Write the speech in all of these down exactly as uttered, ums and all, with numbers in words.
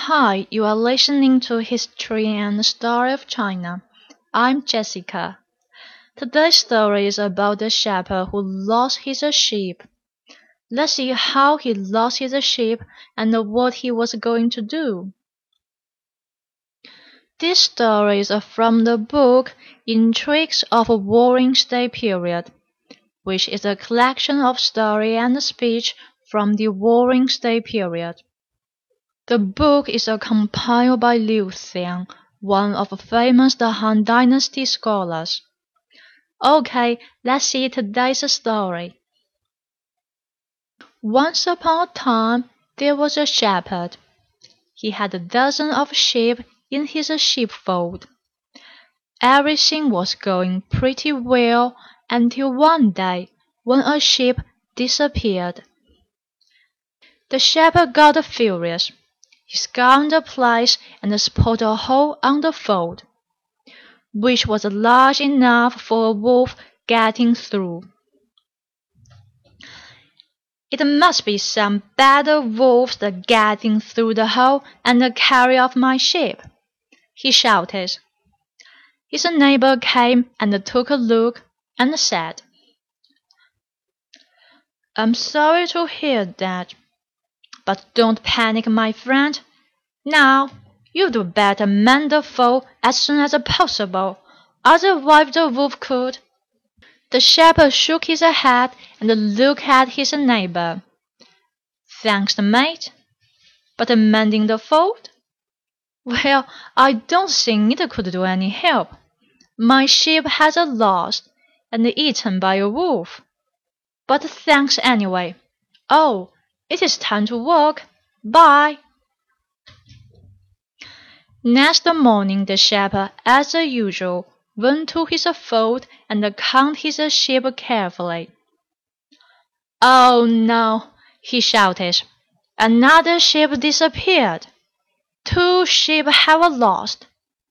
Hi, you are listening to History and the Story of China. I'm Jessica. Today's story is about the shepherd who lost his sheep. Let's see how he lost his sheep and what he was going to do. This story is from the book Intrigues of a Warring State Period, which is a collection of story and speech from the Warring State period. The book is compiled by Liu Xiang, one of the famous Han Dynasty scholars. Okay, let's see today's story. Once upon a time, there was a shepherd. He had a dozen of sheep in his sheepfold. Everything was going pretty well until one day, when a sheep disappeared. The shepherd got furious. He scoured the place and spotted a hole on the fold, which was large enough for a wolf getting through. It must be some bad wolves that getting through the hole and carry off my sheep, he shouted. His neighbor came and took a look and said, I'm sorry to hear that. But don't panic, my friend. Now, you'd better mend the fold as soon as possible, otherwise the wolf could. The shepherd shook his head and looked at his neighbor. Thanks, mate. But mending the fold? Well, I don't think it could do any help. My sheep has lost and eaten by a wolf. But thanks anyway. Oh, it is time to work. Bye. Next morning the shepherd, as usual, went to his fold and counted his sheep carefully. Oh no, he shouted. Another sheep disappeared. Two sheep have lost.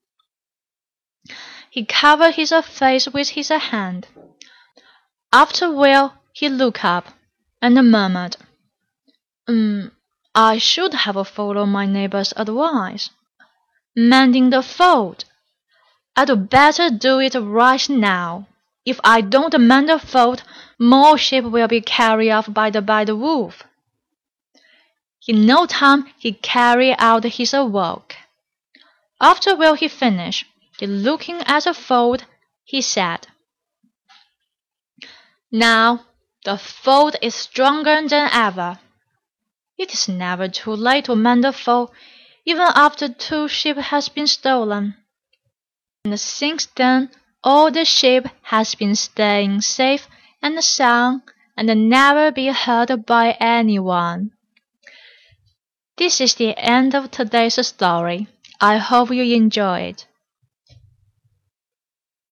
He covered his face with his hand. After a while he looked up and murmured, Um, I should have followed my neighbor's advice. Mending the fold. I'd better do it right now. If I don't mend the fold, more sheep will be carried off by the bad wolf. In no time he carried out his work. After while he finished, looking at the fold, he said, Now the fold is stronger than ever. It is never too late to mend the fold, even after two sheep has been stolen. And since then, all the sheep has been staying safe and sound and never be hurt by anyone. This is the end of today's story. I hope you enjoyed.